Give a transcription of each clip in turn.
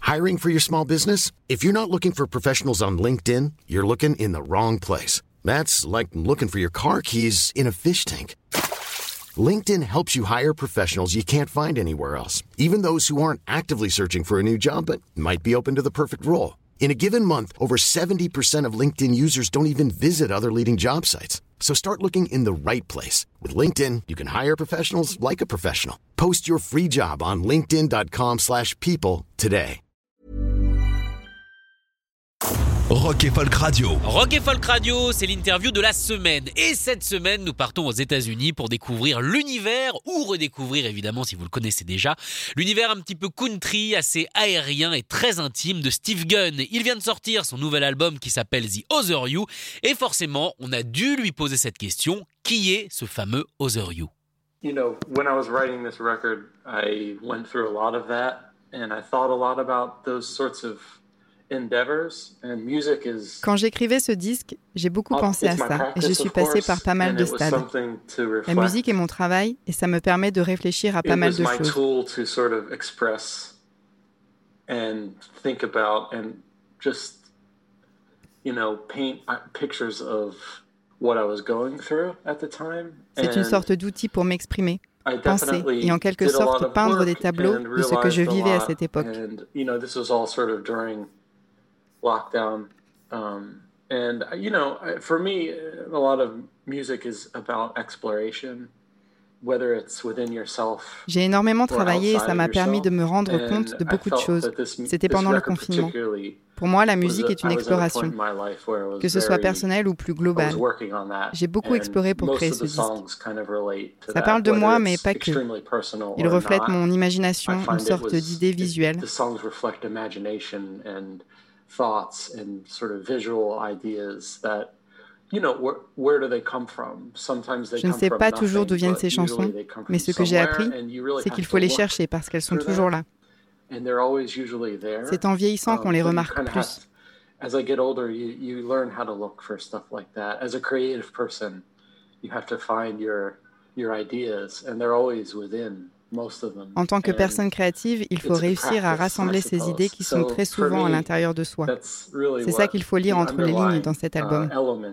Hiring for your small business? If you're not looking for professionals on LinkedIn, you're looking in the wrong place. That's like looking for your car keys in a fish tank. LinkedIn helps you hire professionals you can't find anywhere else, even those who aren't actively searching for a new job but might be open to the perfect role. In a given month, over 70% of LinkedIn users don't even visit other leading job sites. So start looking in the right place. With LinkedIn, you can hire professionals like a professional. Post your free job on linkedin.com/people today. Rock et Folk Radio. Rock et Folk Radio, c'est l'interview de la semaine. Et cette semaine, nous partons aux États-Unis pour découvrir l'univers, ou redécouvrir évidemment si vous le connaissez déjà, l'univers un petit peu country, assez aérien et très intime de Steve Gunn. Il vient de sortir son nouvel album qui s'appelle The Other You. Et forcément, on a dû lui poser cette question, qui est ce fameux Other You? You know, when I was writing this record, I went through a lot of that, and I thought a lot about those sorts of endeavors, and music is... Quand j'écrivais ce disque, j'ai beaucoup pensé à ça et je suis passé par pas mal de stades. La musique est mon travail et ça me permet de réfléchir à pas mal de choses. To sort of express and think about and just, you know, paint pictures of what I was going through at the time. C'est une sorte d'outil pour m'exprimer, penser et en quelque sorte peindre des tableaux de ce que je vivais à cette époque. You know, this was all sort of during lockdown, and you know, for me, a lot of music is about exploration, whether it's within yourself. J'ai énormément travaillé et ça m'a permis de me rendre compte de beaucoup de choses. C'était pendant le confinement. Pour moi, la musique est une exploration, que ce soit personnelle ou plus globale. J'ai beaucoup exploré pour créer ce disque. Ça parle de moi, mais pas que. Il reflète mon imagination, une sorte d'idée visuelle. Thoughts and sort of visual ideas that, you know, where do they come from? Sometimes they Je ne come sais from pas toujours d'où viennent ces nothing, but chansons, usually they come from mais ce que j'ai appris, somewhere, and you really c'est have qu'il to faut les look chercher parce qu'elles sont for toujours that, là. and they're always usually there. C'est en vieillissant qu'on les So you remarque kind of plus. as I get older, you learn how to look for stuff like that. As a creative person, you have to find your ideas, and they're always within. En tant que personne créative, il faut réussir à rassembler ces idées qui sont très souvent à l'intérieur de soi. C'est ça qu'il faut lire entre les lignes dans cet album.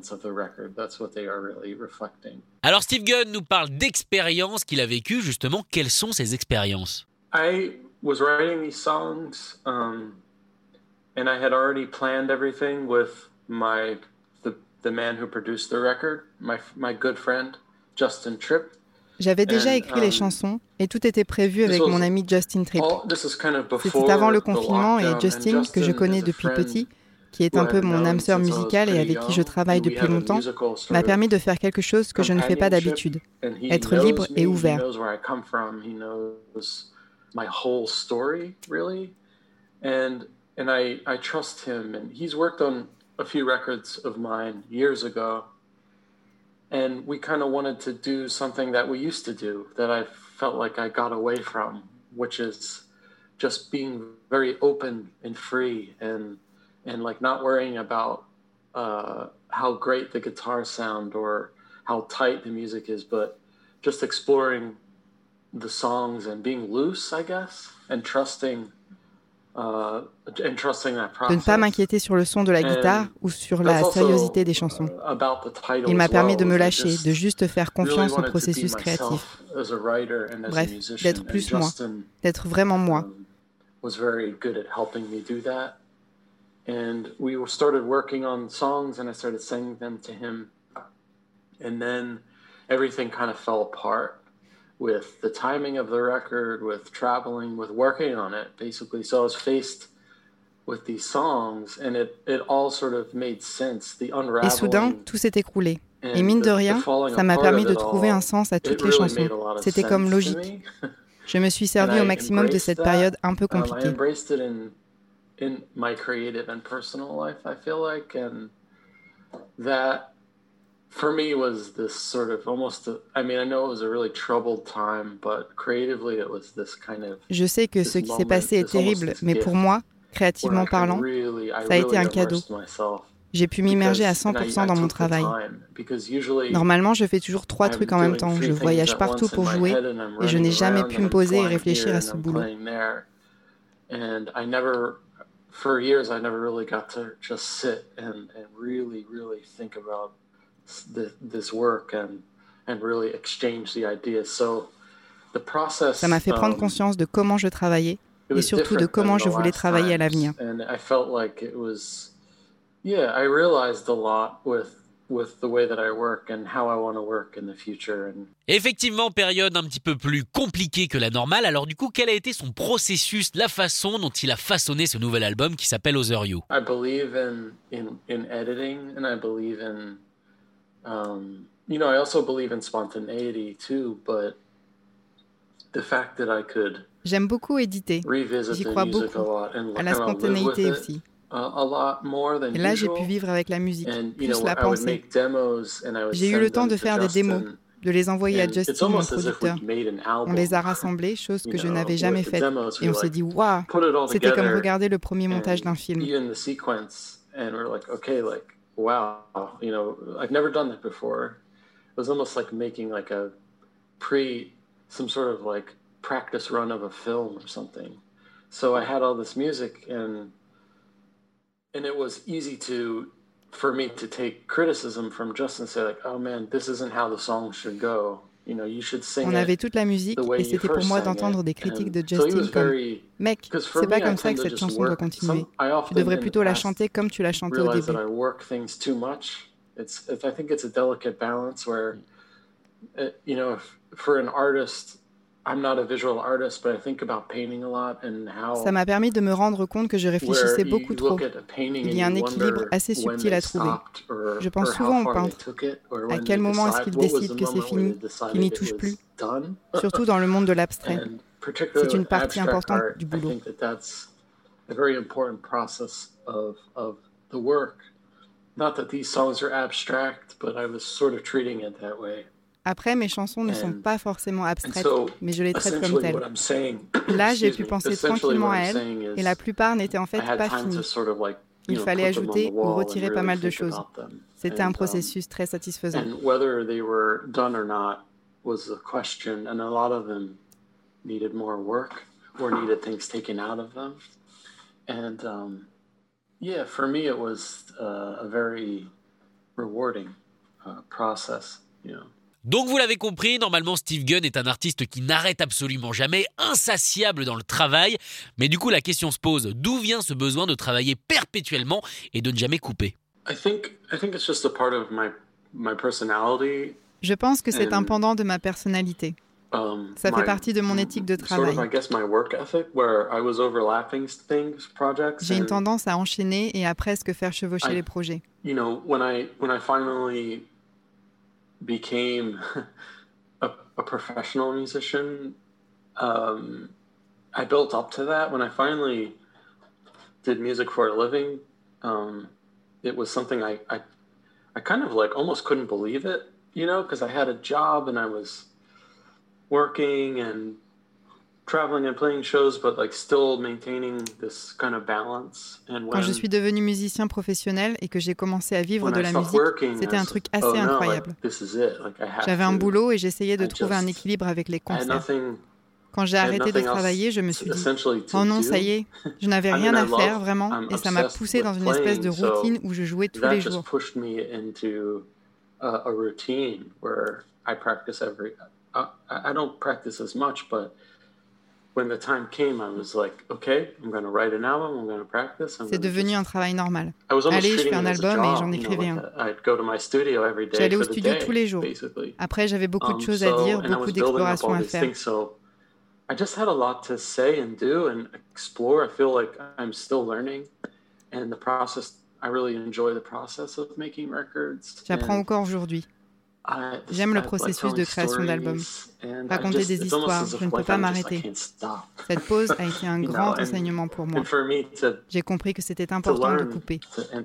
Alors Steve Gunn nous parle d'expériences qu'il a vécues, justement. Quelles sont ces expériences? I was writing these songs, and I had already planned everything with the man who produced the record, my good friend, Justin Tripp. J'avais déjà écrit les chansons et tout était prévu avec mon ami Justin Tripp. C'était avant le confinement et Justin, que je connais depuis petit, qui est un peu mon âme sœur musicale et avec qui je travaille depuis longtemps, m'a permis de faire quelque chose que je ne fais pas d'habitude, être libre et ouvert. And I trust him, and he's worked on a few records of mine years ago. And we kind of wanted to do something that we used to do, that I felt like I got away from, which is just being very open and free and like not worrying about how great the guitars sound or how tight the music is, but just exploring the songs and being loose, I guess, and trusting de ne pas m'inquiéter sur le son de la guitare ou sur la sérieuxité des chansons. Il m'a permis de me lâcher, de juste faire confiance au processus créatif. Bref, d'être plus moi, d'être vraiment moi. And we started working on songs and I started singing them to him. And then everything kind of fell apart. With the timing of the record, with traveling, with working on it, basically. So I was faced with these songs, and it all sort of made sense. The unraveling. Et soudain, tout s'est écroulé. Et mine de rien, ça m'a permis de trouver un sens à toutes les chansons. C'était comme logique. Je me suis servi au maximum de cette période un peu compliquée. I embraced it in my creative and personal life, I feel like, and that. For me, was this sort of almost. I mean, I know it was a really troubled time, but creatively, it was this kind of. Je sais que ce qui s'est passé est terrible, mais pour moi, créativement parlant, ça a été un cadeau. J'ai pu m'immerger à 100% dans mon travail. Normalement, je fais toujours 3 trucs en même temps. Je voyage partout pour jouer et je n'ai jamais pu me poser et réfléchir à ce boulot. And for years, I never really got to just sit and really, really think about this work and really exchange the ideas. So the process. Ça m'a fait prendre conscience de comment je travaillais et surtout de comment je voulais travailler à l'avenir. And I felt like it was, I realized a lot with the way that I work and how I want to work in the future. Effectivement, période un petit peu plus compliquée que la normale. Alors du coup, quel a été son processus, la façon dont il a façonné ce nouvel album qui s'appelle Other You? I believe in editing, and I believe in, I also believe in spontaneity too, but the fact that I could J'aime beaucoup éditer, j'y crois beaucoup, à la spontanéité aussi. Et là, j'ai pu vivre avec la musique, plus la pensée. J'ai eu le temps de faire des démos, de les envoyer à Justin, mon producteur. On les a rassemblés, chose que je n'avais jamais faite. Et on s'est dit, waouh, c'était comme regarder le premier montage d'un film. Some sort of like practice run of a film or something. So I had all this music and it was easy for me to take criticism from Justin and say like, oh man, this isn't how the song should go. You should sing. On avait toute la musique et c'était pour moi d'entendre des critiques de Justin comme mec, c'est pas comme ça que cette chanson doit continuer. Tu devrais plutôt la chanter comme tu l'as chantée au début. I work things too much. I think it's a delicate balance where for an artist, I'm not a visual artist, but I think about painting a lot and how. Ça m'a permis de me rendre compte que je réfléchissais beaucoup trop. Il y a un équilibre assez subtil à trouver. Je pense souvent aux peintres. À quel moment est-ce qu'ils décident que c'est fini, qu'ils n'y touchent plus? Surtout dans le monde de l'abstrait. C'est une partie importante du boulot. A very important process of the work. Not that these songs are abstract, but I was sort of treating it that way. Après, mes chansons ne sont pas forcément abstraites, mais je les traite comme telles. Là, j'ai pu penser tranquillement à elles, et la plupart n'étaient en fait pas finies. Il fallait ajouter ou retirer pas mal de choses. C'était un processus très satisfaisant. For me, it was a very rewarding process, Donc vous l'avez compris, normalement Steve Gunn est un artiste qui n'arrête absolument jamais, insatiable dans le travail. Mais du coup la question se pose, d'où vient ce besoin de travailler perpétuellement et de ne jamais couper? I think it's just a part of my personality. Je pense que c'est un pendant de ma personnalité. Ça fait partie de mon éthique de travail. J'ai une tendance à enchaîner et à presque faire chevaucher les projets. When I finally became a professional musician, I built up to that. When I finally did music for a living, it was something I kind of like almost couldn't believe it, because I had a job and I was working and traveling and playing shows, but like still maintaining this kind of balance. Quand je suis devenu musicien professionnel et que j'ai commencé à vivre de la musique, c'était un truc assez incroyable. J'avais un boulot et j'essayais de trouver un équilibre avec les concerts. Quand j'ai arrêté de travailler, je me suis dit « Oh non, ça y est, je n'avais rien à faire vraiment » et ça m'a poussé dans une espèce de routine où je jouais tous les jours. I don't practice as much, but when the time came, I was like, okay, I'm going to write an album, I'm going to practice. C'est devenu un travail normal. Allez, je fais un album et j'en écrivais un. J'allais au studio tous les jours. Après, j'avais beaucoup de choses à dire, beaucoup d'explorations à faire. I just had a lot to say and do and explore. I feel like I'm still learning, and the process. I really enjoy the process of making records. J'apprends encore aujourd'hui. J'aime le processus de création d'albums. Raconter des histoires, je ne peux pas m'arrêter. Cette pause a été un grand enseignement pour moi. J'ai compris que c'était important de couper.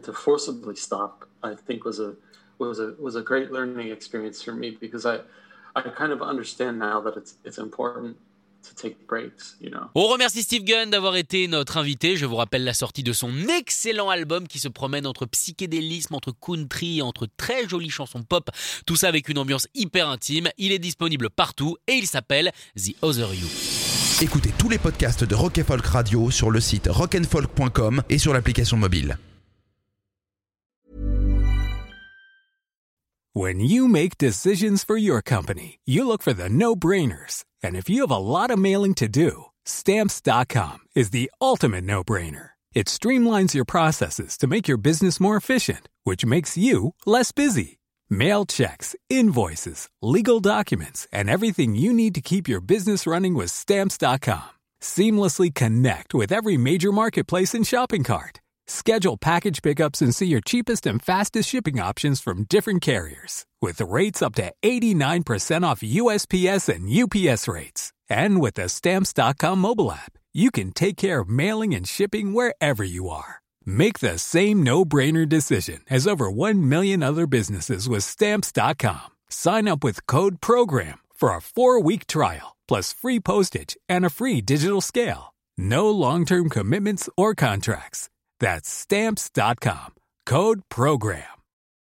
On remercie Steve Gunn d'avoir été notre invité. Je vous rappelle la sortie de son excellent album qui se promène entre psychédélisme, entre country, entre très jolies chansons pop. Tout ça avec une ambiance hyper intime. Il est disponible partout et il s'appelle The Other You. Écoutez tous les podcasts de Rock & Folk Radio sur le site rockandfolk.com et sur l'application mobile. When you make decisions for your company, you look for the no-brainers. And if you have a lot of mailing to do, Stamps.com is the ultimate no-brainer. It streamlines your processes to make your business more efficient, which makes you less busy. Mail checks, invoices, legal documents, and everything you need to keep your business running with Stamps.com. Seamlessly connect with every major marketplace and shopping cart. Schedule package pickups and see your cheapest and fastest shipping options from different carriers, with rates up to 89% off USPS and UPS rates. And with the Stamps.com mobile app, you can take care of mailing and shipping wherever you are. Make the same no-brainer decision as over 1 million other businesses with Stamps.com. Sign up with code PROGRAM for a 4-week trial, plus free postage and a free digital scale. No long-term commitments or contracts. That's Stamps.com. Code PROGRAM.